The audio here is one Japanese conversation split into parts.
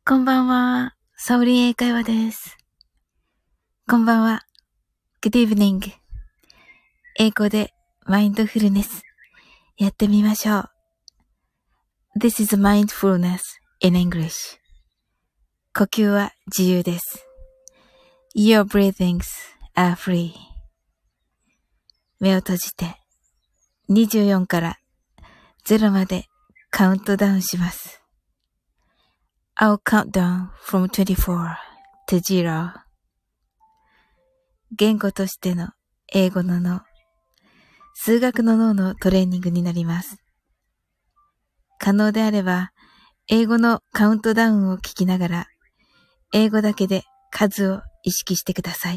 こんばんは。サオリン英会話です。こんばんは。Good evening. 英語でマインドフルネスやってみましょう。This is mindfulness in English. 呼吸は自由です。Your breathings are free. 目を閉じて24から0までカウントダウンします。I'll count down from 24 to 0. 言語としての英語の脳、数学の脳のトレーニングになります。可能であれば、英語のカウントダウンを聞きながら、英語だけで数を意識してください。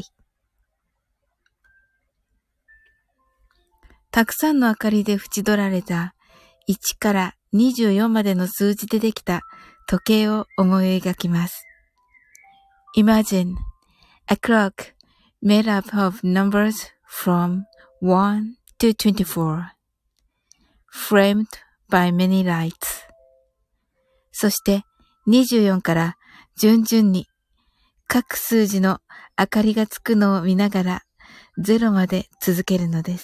たくさんの明かりで縁取られた1から24までの数字でできた時計を思い描きます。Imagine a clock made up of numbers from 1 to 24, framed by many lights. そして24から順々に各数字の明かりがつくのを見ながら0まで続けるのです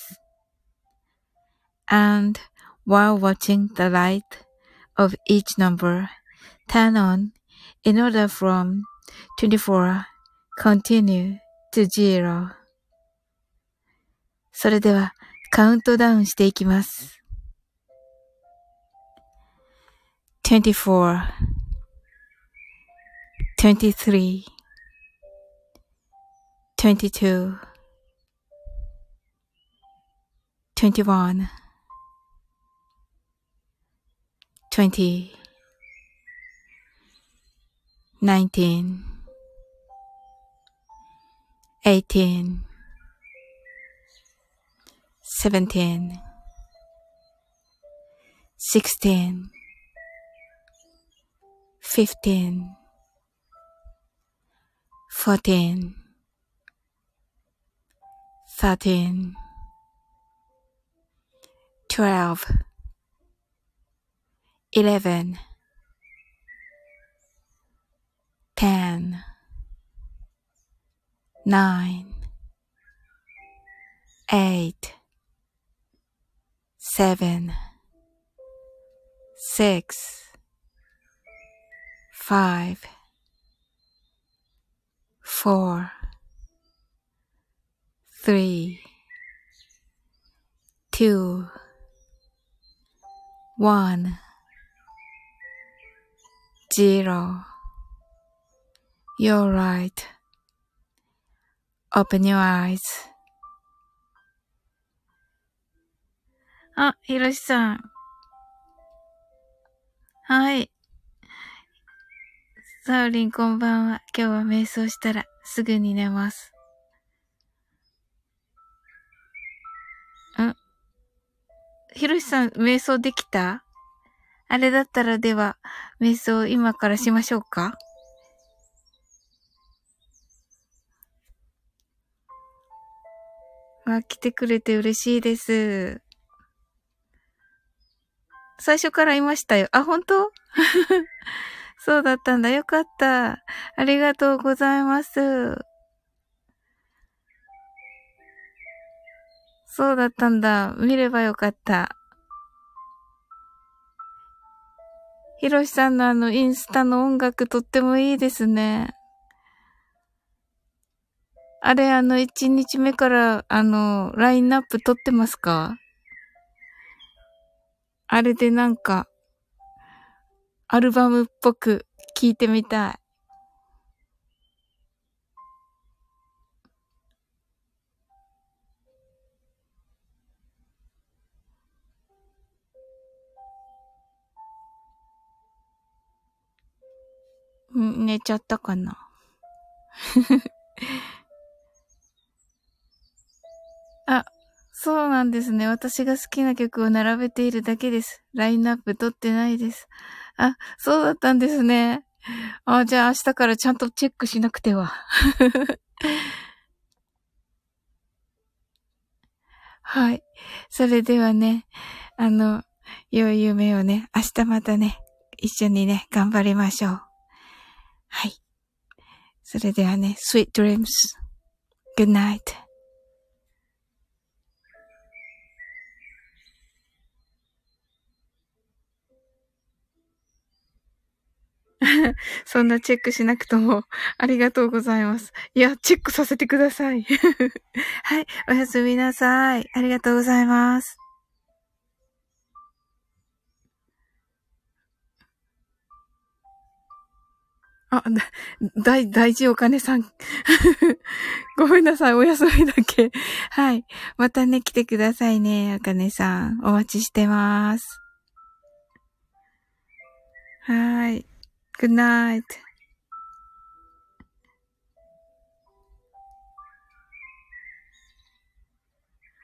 。And while watching the light of each number turn on in order from 24 continue to 0. それではカウントダウンしていきます。24 23 22 21 20 19 18 17 16 15 14 13 12 11 10 9 8 7 6 5 4 3 2 1 0. You're right. Open your eyes. あ、ひろしさん。はい。サオリンこんばんは。今日は瞑想したらすぐに寝ます。ひろしさん、瞑想できた？あれだったらでは、瞑想今からしましょうか？来てくれて嬉しいです。最初からいましたよ。あ、本当？そうだったんだ。よかった。ありがとうございます。そうだったんだ。見ればよかった。ひろしさんのインスタの音楽とってもいいですね。あれ1日目からラインナップ撮ってますか？あれでなんか、アルバムっぽく聴いてみたい。寝ちゃったかな。あ、そうなんですね。私が好きな曲を並べているだけです。ラインナップ取ってないです。あ、そうだったんですね。あ、じゃあ明日からちゃんとチェックしなくては。はい。それではね、良い夢をね、明日またね、一緒にね、頑張りましょう。 はい。それではね、sweet dreams. Good night. そんなチェックしなくとも、ありがとうございます。いや、チェックさせてください。はい、おやすみなさい。ありがとうございます。あ、大事お金さん。ごめんなさい、お休みだけ。はい。またね、来てくださいね、お金さん。お待ちしてます。はい。Good night.